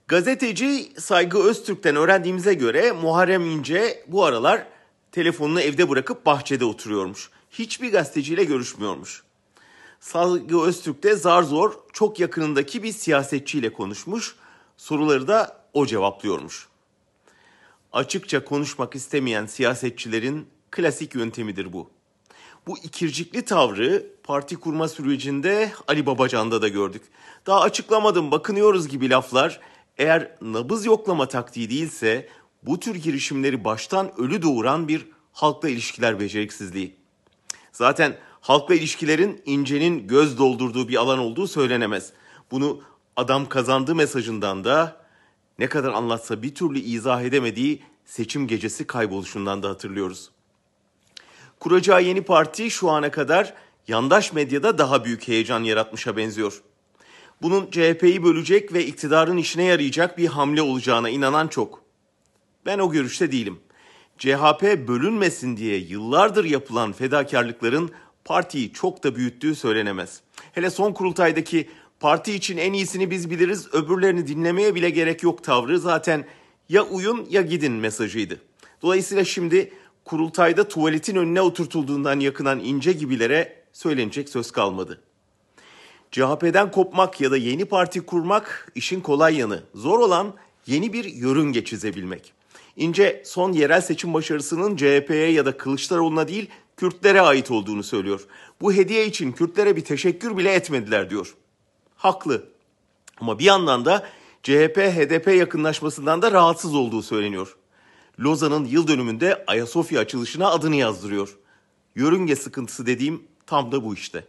Gazeteci Saygı Öztürk'ten öğrendiğimize göre Muharrem İnce bu aralar telefonunu evde bırakıp bahçede oturuyormuş. Hiçbir gazeteciyle görüşmüyormuş. Saygı Öztürk de zar zor çok yakınındaki bir siyasetçiyle konuşmuş. Soruları da o cevaplıyormuş. Açıkça konuşmak istemeyen siyasetçilerin klasik yöntemidir bu. Bu ikircikli tavrı parti kurma sürecinde Ali Babacan'da da gördük. Daha açıklamadım, bakınıyoruz gibi laflar eğer nabız yoklama taktiği değilse bu tür girişimleri baştan ölü doğuran bir halkla ilişkiler beceriksizliği. Zaten halkla ilişkilerin İnce'nin göz doldurduğu bir alan olduğu söylenemez. Bunu adam kazandı mesajından da ne kadar anlatsa bir türlü izah edemediği seçim gecesi kayboluşundan da hatırlıyoruz. Kuracağı yeni parti şu ana kadar yandaş medyada daha büyük heyecan yaratmışa benziyor. Bunun CHP'yi bölecek ve iktidarın işine yarayacak bir hamle olacağına inanan çok. Ben o görüşte değilim. CHP bölünmesin diye yıllardır yapılan fedakarlıkların partiyi çok da büyüttüğü söylenemez. Hele son kurultaydaki parti için en iyisini biz biliriz, öbürlerini dinlemeye bile gerek yok tavrı zaten ya uyun ya gidin mesajıydı. Dolayısıyla şimdi kurultayda tuvaletin önüne oturtulduğundan yakınan İnce gibilere söylenecek söz kalmadı. CHP'den kopmak ya da yeni parti kurmak işin kolay yanı. Zor olan yeni bir yörünge çizebilmek. İnce son yerel seçim başarısının CHP'ye ya da Kılıçdaroğlu'na değil Kürtlere ait olduğunu söylüyor. Bu hediye için Kürtlere bir teşekkür bile etmediler diyor. Haklı. Ama bir yandan da CHP-HDP yakınlaşmasından da rahatsız olduğu söyleniyor. Lozan'ın yıl dönümünde Ayasofya açılışına adını yazdırıyor. Yörünge sıkıntısı dediğim tam da bu işte.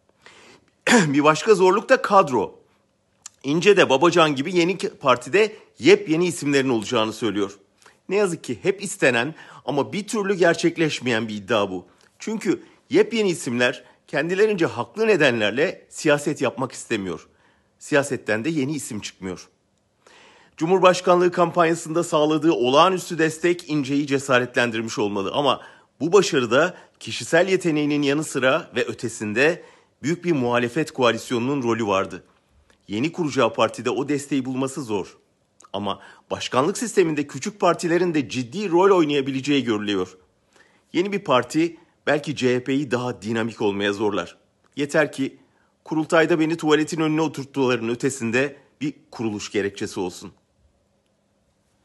Bir başka zorluk da kadro. İnce de Babacan gibi yeni partide yepyeni isimlerin olacağını söylüyor. Ne yazık ki hep istenen ama bir türlü gerçekleşmeyen bir iddia bu. Çünkü yepyeni isimler kendilerince haklı nedenlerle siyaset yapmak istemiyor. Siyasetten de yeni isim çıkmıyor. Cumhurbaşkanlığı kampanyasında sağladığı olağanüstü destek İnce'yi cesaretlendirmiş olmalı ama bu başarıda kişisel yeteneğinin yanı sıra ve ötesinde büyük bir muhalefet koalisyonunun rolü vardı. Yeni kuracağı partide o desteği bulması zor. Ama başkanlık sisteminde küçük partilerin de ciddi rol oynayabileceği görülüyor. Yeni bir parti belki CHP'yi daha dinamik olmaya zorlar. Yeter ki kurultayda beni tuvaletin önüne oturttularının ötesinde bir kuruluş gerekçesi olsun.